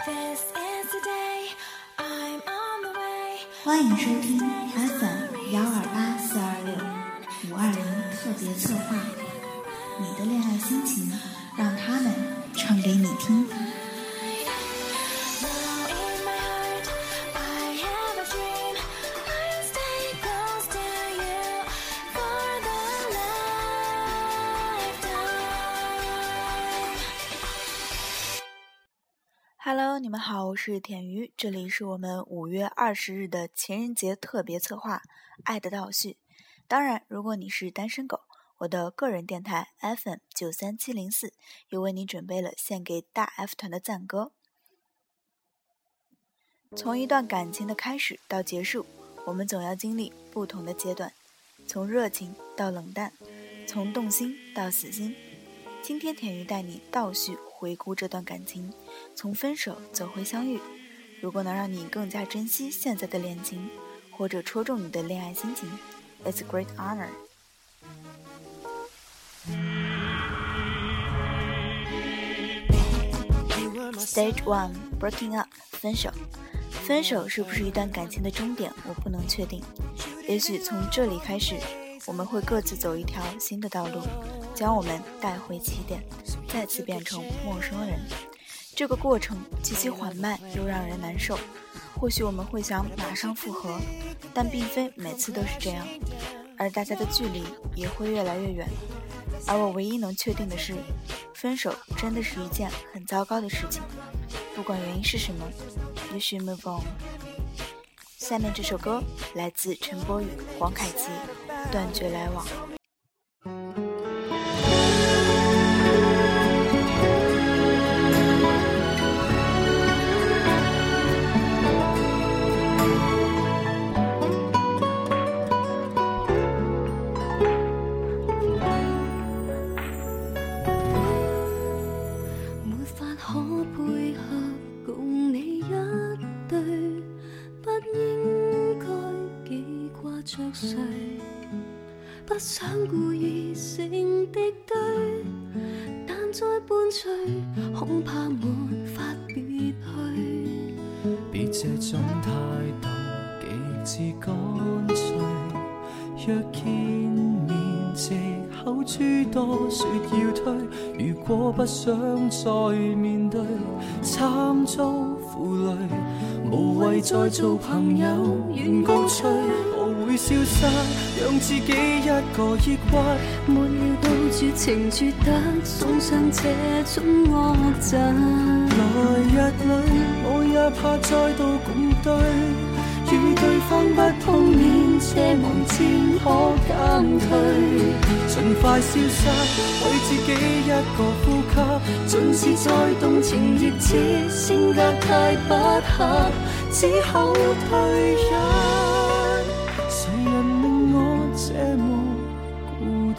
欢迎收听 FM128426520特别策划，你的恋爱心情，让他们唱给你听。 Hello， 你们好，我是田鱼，这里是我们5月20日的情人节特别策划《爱的倒叙》。当然，如果你是单身狗，我的个人电台 FM93704 又为你准备了献给大 F 团的赞歌。从一段感情的开始到结束，我们总要经历不同的阶段，从热情到冷淡，从动心到死心。今天田鱼带你倒叙回顾这段感情，从分手走回相遇。如果能让你更加珍惜现在的恋情，或者戳中你的恋爱心情， It's a great honor。 Stage 1 Breaking up 分手。分手是不是一段感情的终点，我不能确定。也许从这里开始，我们会各自走一条新的道路，将我们带回起点，再次变成陌生人。这个过程极其缓慢又让人难受，或许我们会想马上复合，但并非每次都是这样，而大家的距离也会越来越远。而我唯一能确定的是，分手真的是一件很糟糕的事情，不管原因是什么， You should move on。 下面这首歌来自陈柏宇、黄凯琪，断绝来往。 不想故意成敵對，但再伴隨，恐怕沒法別去。 別這種態度極致乾脆，若見面藉口諸多說要退，如果不想再面對，慘遭負累，無謂再做朋友，願告吹。會消失，讓自己一個抑鬱， 沒料到絕情絕得，送上這種惡習。 來日裏，我也怕再度共對，與對方不碰面，奢望漸可減退。盡快消失，為自己一個呼吸，縱使再動情，亦知性格太不合，只好退一。這麼固執，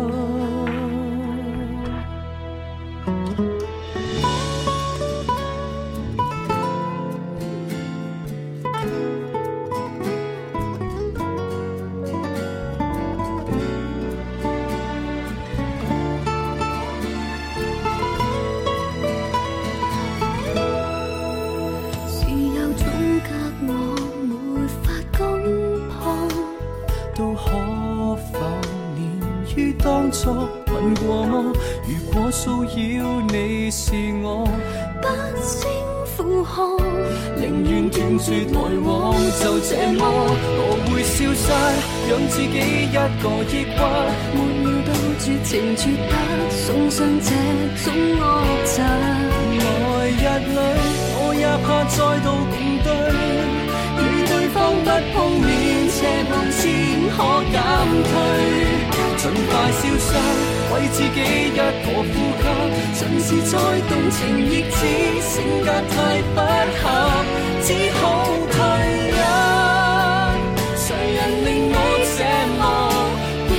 是有種隔我沒法攻破， 都可否連於當初問過麼？如果騷擾你是我， 不勝負荷， 寧願斷絕來往，就這麼我會消失，讓自己一個抑鬱， 沒料到絕情絕得，送上這種惡習。 來日裏，我也怕再度共對，與對方不碰面，奢望先可減退。盡快消失，為自己一個呼吸，盡是再動情，亦知性格太不合，只好退一。誰人令我這麼固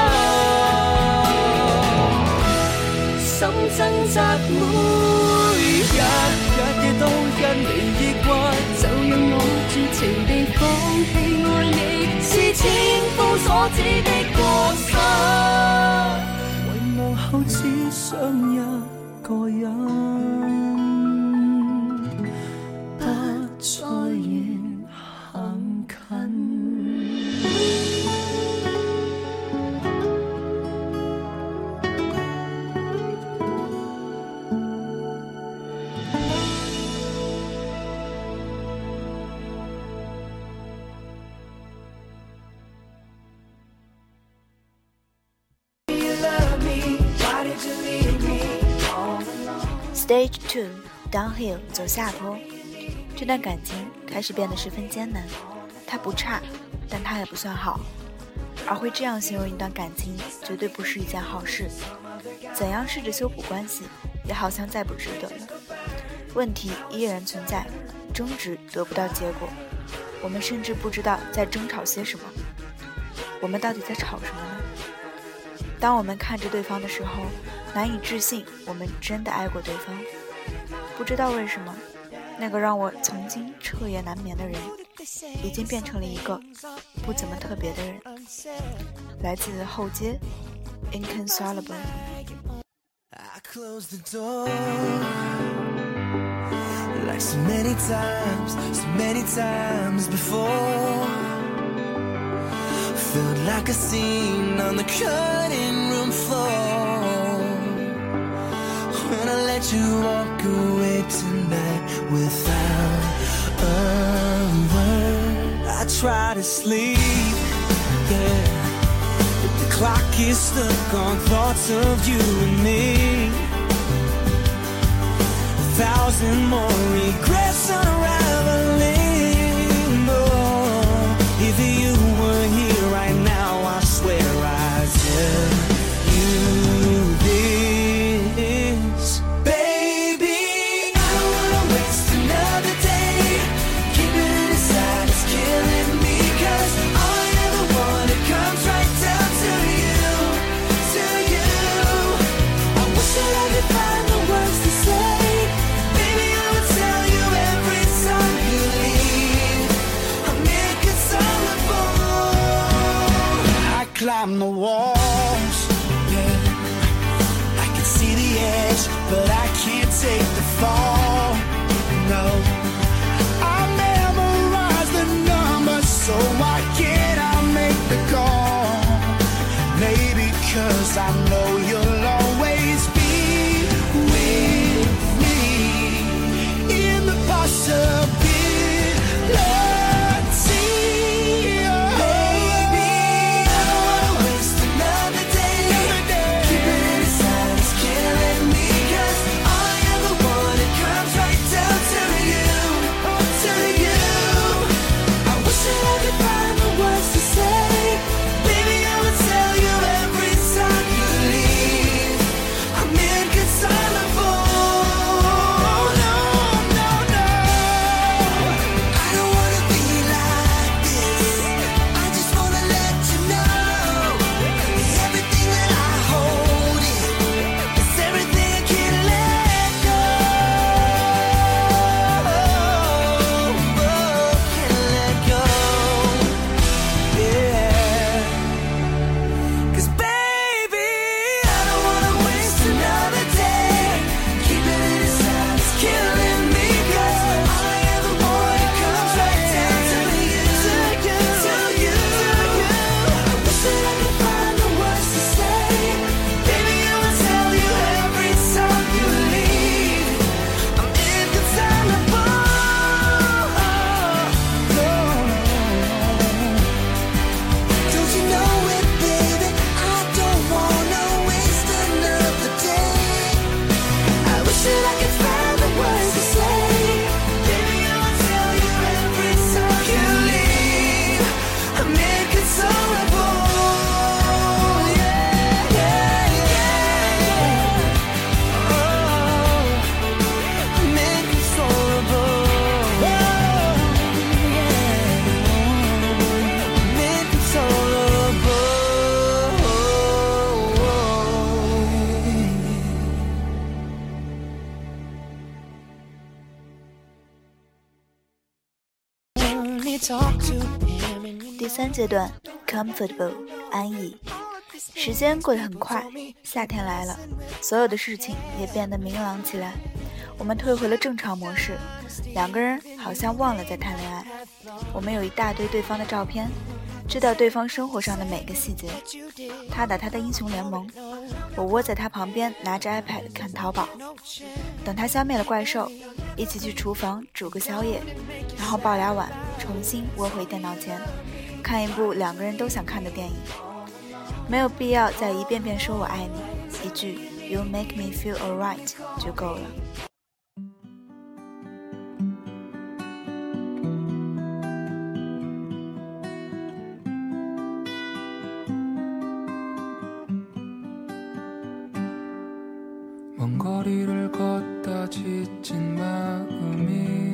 執，心掙扎每日，日夜都因你抑鬱， 就讓我絕情地放棄愛你，是千夫所指的過失。 遺忘後只想一個人。 Stage 2 Downhill 走下坡，这段感情开始变得十分艰难。它不差，但它也不算好。而会这样形容一段感情，绝对不是一件好事。怎样试着修补关系，也好像再不值得了。问题依然存在，争执得不到结果，我们甚至不知道在争吵些什么。我们到底在吵什么呢？当我们看着对方的时候，难以置信我们真的爱过对方。不知道为什么，那个让我曾经彻夜难眠的人，已经变成了一个不怎么特别的人。来自后街 Inconsolable。 I closed the door like so many times before. Felt like a scene on the cutting room floor. When I let you walk away tonight without a word, I try to sleep, yeah, but the clock is stuck on thoughts of you and me. 1,000 more regrets unraveling. Oh, if you were here right now, I swear I'd tell you this. Baby, I don't wanna waste another day. Keeping it inside is killing me, 'cause all I ever want, it comes right down to you, to you. I wish that I could find the words to say. Baby, I would tell you every time you leave. I'm inconsolable. I climb the walls, yeah. I can see the edge, but I can't take the fall. No, I memorize the numbers, so why can't I make the call? Maybe 'cause I know you'll always be with me in the possibility. Baby, I don't wanna waste another day. Keeping it inside is killing me, 'cause all I ever want, it comes right down to you, to you. I wish that I could find the words to say. Baby, I would tell you every time you leave. I'm inconsolable. No, no, no. I don't wanna be like this. I just wanna let you know everything that I hold is everything I can't let go. Can't let go. Yeah. 'Cause baby, I don't wanna waste another day. Keeping it inside is killing me, 'cause all I ever want, it comes right down to you, to you, to you. I wish that I could find the words to say. Baby, I will tell you every time you leave. I'm inconsolable. Don't you know it, baby? I don't wanna waste another day. I wish that I could find the words to say. Baby, I will tell you every time you leave. I'm inconsolable. Yeah, yeah, yeah, yeah. Oh, I'm inconsolable. Oh, yeah. I'm inconsolable. Only talk to him and you 第3阶段 Comfortable 安逸。时间过得很快，夏天来了，所有的事情也变得明朗起来。我们退回了正常模式，两个人好像忘了在谈恋爱。我们有一大堆对方的照片，知道对方生活上的每个细节。他打他的英雄联盟，我窝在他旁边拿着 iPad 看淘宝。等他消灭了怪兽，一起去厨房煮个宵夜，然后抱俩碗，重新窝回电脑前，看一部两个人都想看的电影。没有必要再一遍遍说我爱你，一句 You make me feel alright 就够了。 지친 마음이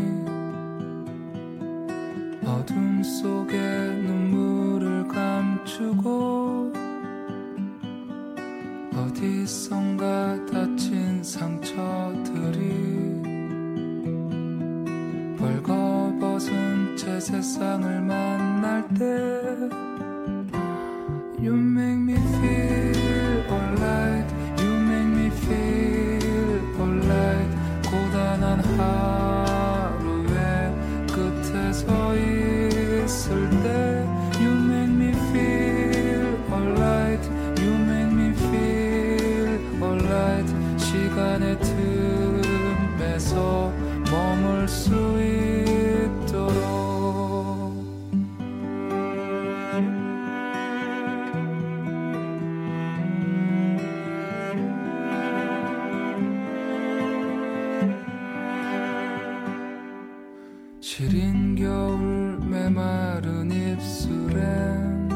어둠 속에 눈물을 감추고 어디선가 다친 상처들이 벌거벗은 채 세상을 만날 때 You make me feel alright You make me feel alright 고단한 하루의 끝에 서 있을 때 You make me feel alright You make me feel alright 시간의 틈에서 머물 수 있도록 시린 겨울 메마른 입술엔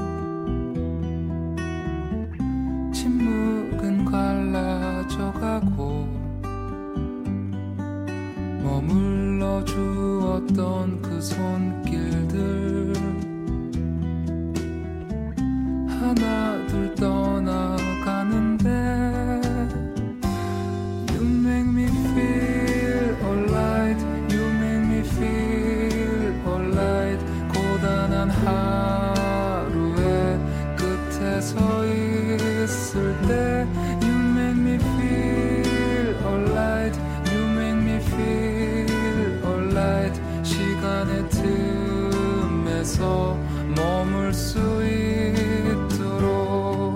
침묵은 갈라져가고 머물러 주었던 그 손길들 하나둘 떠나가는데 You make me feel alright You make me feel alright 고단한 하루의 끝에 서 있을 때 You make me feel alright You make me feel alright 시간의 틈에서 머물 수 있도록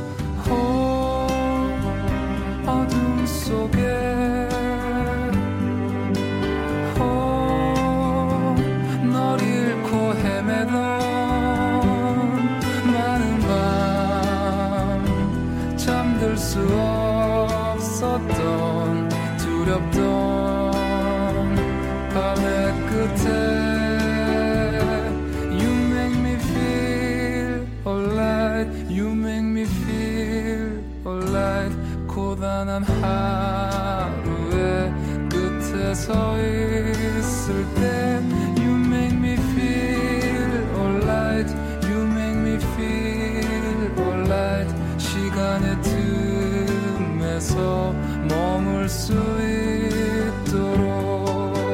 어둠 속에 널 잃고 헤매던 많은 밤 잠들 수 없었던 두렵던 밤의 끝에 You make me feel alright You make me feel alright 고단한 하루의 끝에 서 있을 때 You make me feel alright You make me feel alright 시간의 틈에서 머물 수 있도록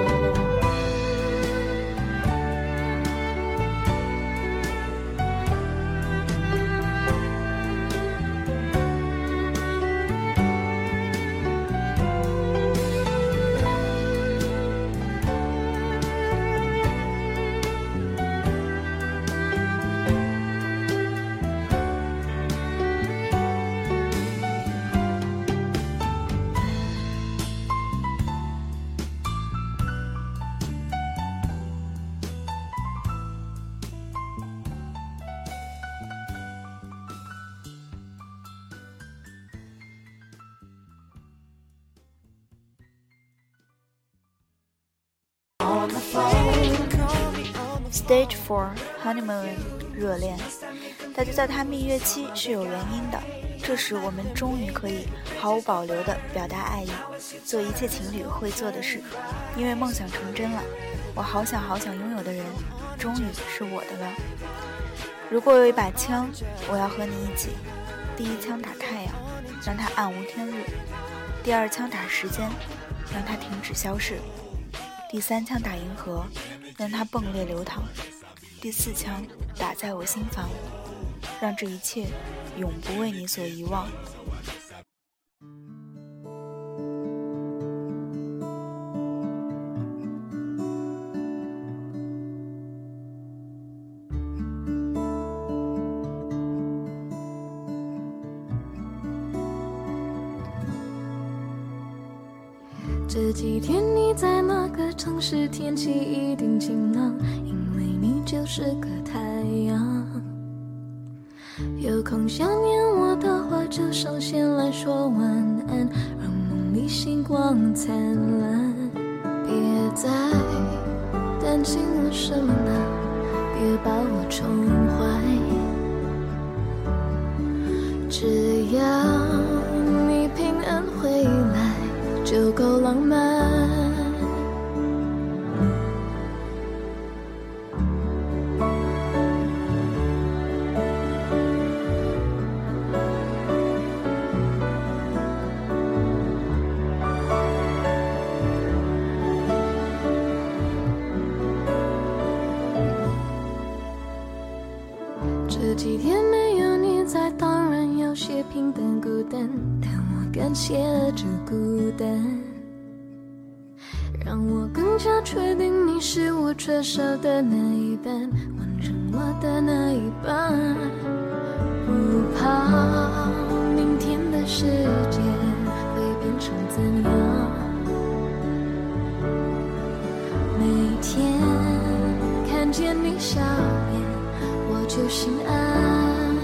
Stage 4 Honeymoon 热恋，大家叫它蜜月期是有原因的。这时我们终于可以毫无保留地表达爱意，做一切情侣会做的事，因为梦想成真了。我好想好想拥有的人，终于是我的了。如果有一把枪，我要和你一起。第一枪打太阳，让它暗无天日；第二枪打时间，让它停止消逝；第三枪打银河，让它迸裂流淌；第四枪打在我心房，让这一切永不为你所遗忘。 这几天你在哪个城市？天气一定晴朗，因为你就是个太阳。有空想念我的话，就上线来说晚安，让梦里星光灿烂。别再担心我什么呢？别把我宠坏，只要你平安回来就够浪漫。 几天没有你在，当然有些平淡孤单，但我感谢这孤单，让我更加确定你是我缺少的那一半，完成我的那一半。不怕明天的世界会变成怎样，每天看见你笑脸我就心安，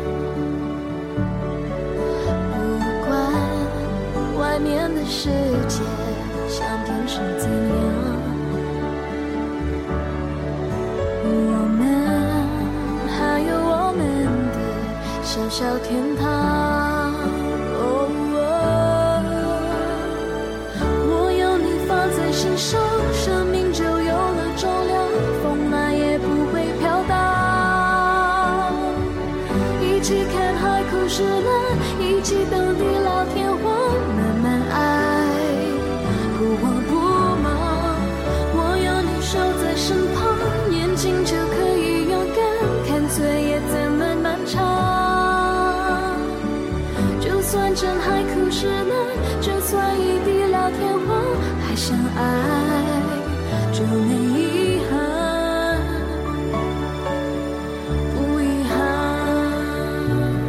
不管外面的世界像天是怎样，我们还有我们的小小天堂。我有你放在心上，生命就有了重量，风来也不会飘荡。一起看海枯石烂，一起等地老天荒，慢慢爱，不慌不忙。我有你守在身旁，眼睛就可以勇敢，看岁月怎么漫长。就算真海枯石烂，就算一地老天荒，还相爱就没遗憾，不遗憾。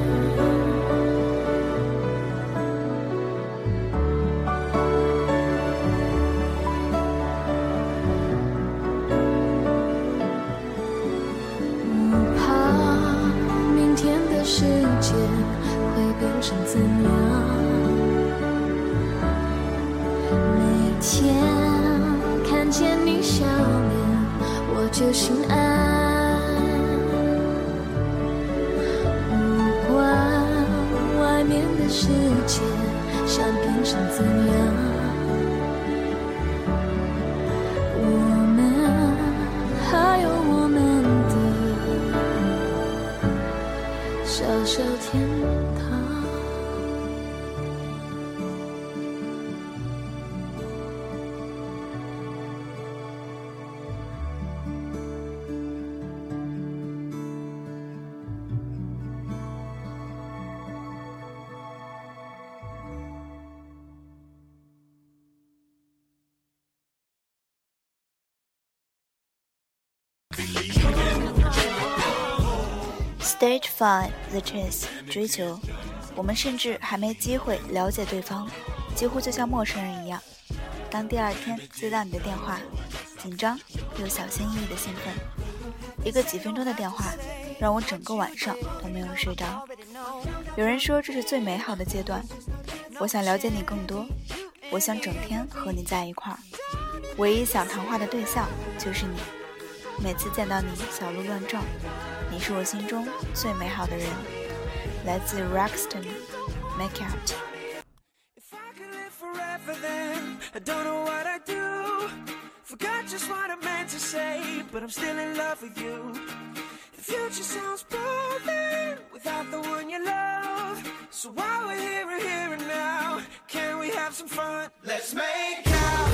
不怕明天的世界会变成怎样，每天看见你笑脸我就心安，不管外面的世界想变成怎样，我们还有我们的小小天堂。 Stage 5 The Chase 追求，我们甚至还没机会了解对方，几乎就像陌生人一样。当第二天接到你的电话，紧张又小心翼翼的兴奋，一个几分钟的电话让我整个晚上都没有睡着。有人说这是最美好的阶段，我想了解你更多，我想整天和你在一块儿，唯一想谈话的对象就是你。每次见到你小鹿乱撞，你是我心中最美好的人。来自 Roxton Make Out。 If I could live forever then I don't know what I'd do. Forgot just what I meant to say, but I'm still in love with you. The future sounds boring without the one you love. So while we're here and now, can we have some fun? Let's make out.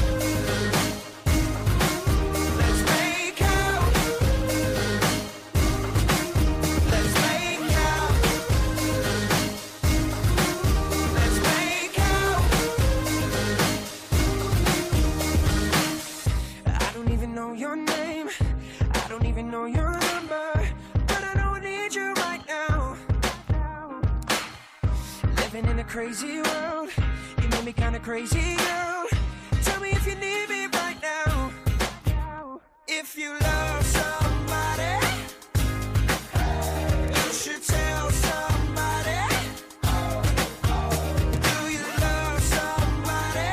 Know your number, but I don't need you right now. Living in a crazy world, you made me kinda crazy, girl. Tell me if you need me right now. If you love somebody, you should tell somebody. Do you love somebody?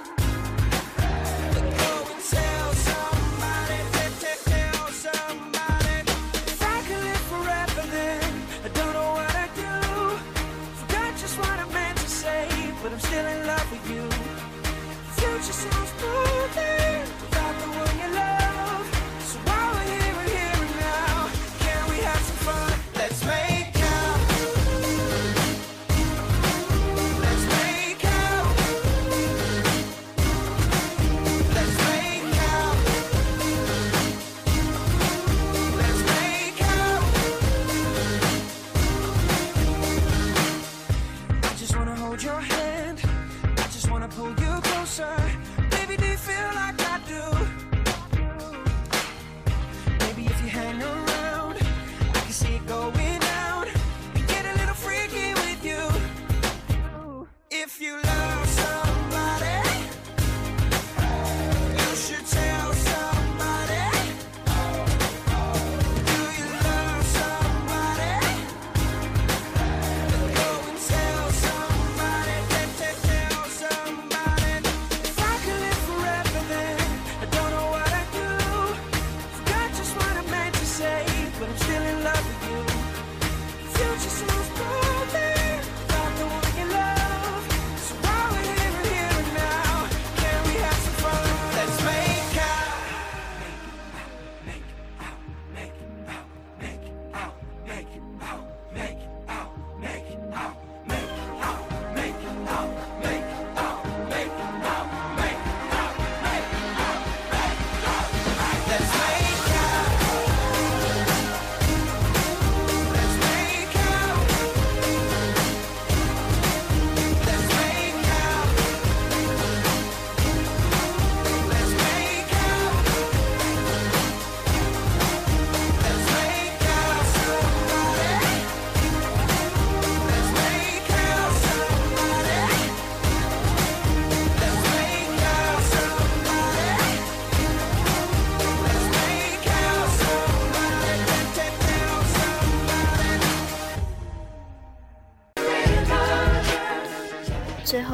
Go and tell somebody. Tell somebody. If I could live forever then I don't know what I'd do. Forgot just what I meant to say, but I'm still in love with you.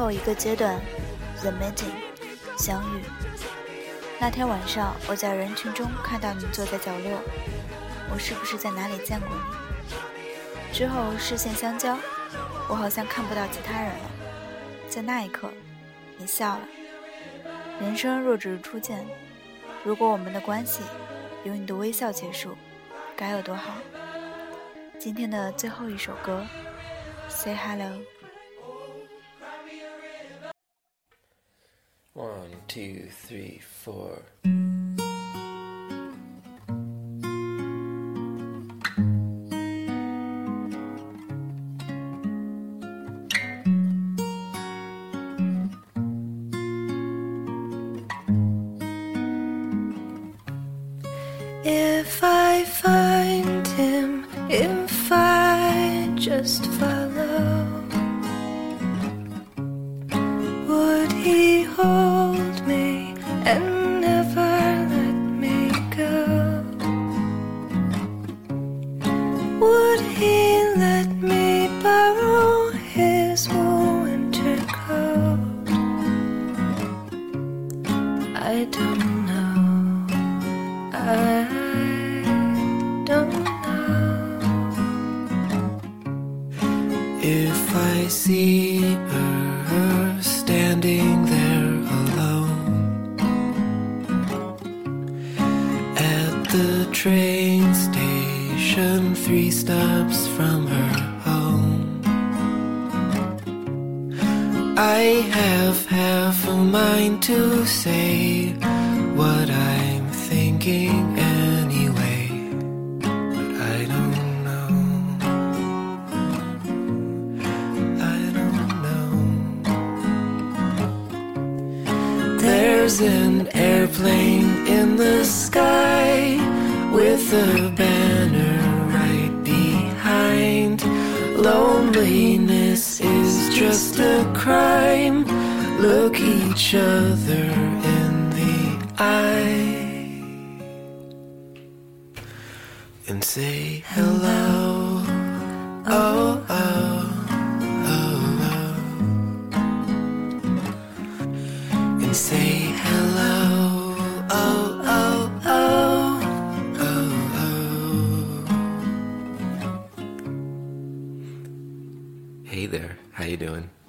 后一个阶段 The Meeting 相遇。那天晚上我在人群中看到你坐在角落，我是不是在哪里见过你？之后视线相交，我好像看不到其他人了。在那一刻你笑了。人生若只是初见，如果我们的关系由你的微笑结束，该有多好。今天的最后一首歌 Say Hello。 1, 2, 3, 4. If I find him, if I just follow, would he hold me and never let me go? Would he let me borrow his winter coat? I don't know. I don't know. If I see her standing there alone at the train station 3 stops from her home, I have half a mind to say what I'm thinking anyway, but I don't know. I don't know. There's an airplane in the sky with a banner right behind. Loneliness is just a crime. Look each other in the eye and say hello. Oh, oh, oh, oh. And say hello. Oh, oh, oh, oh, oh. Hey there, how you doing?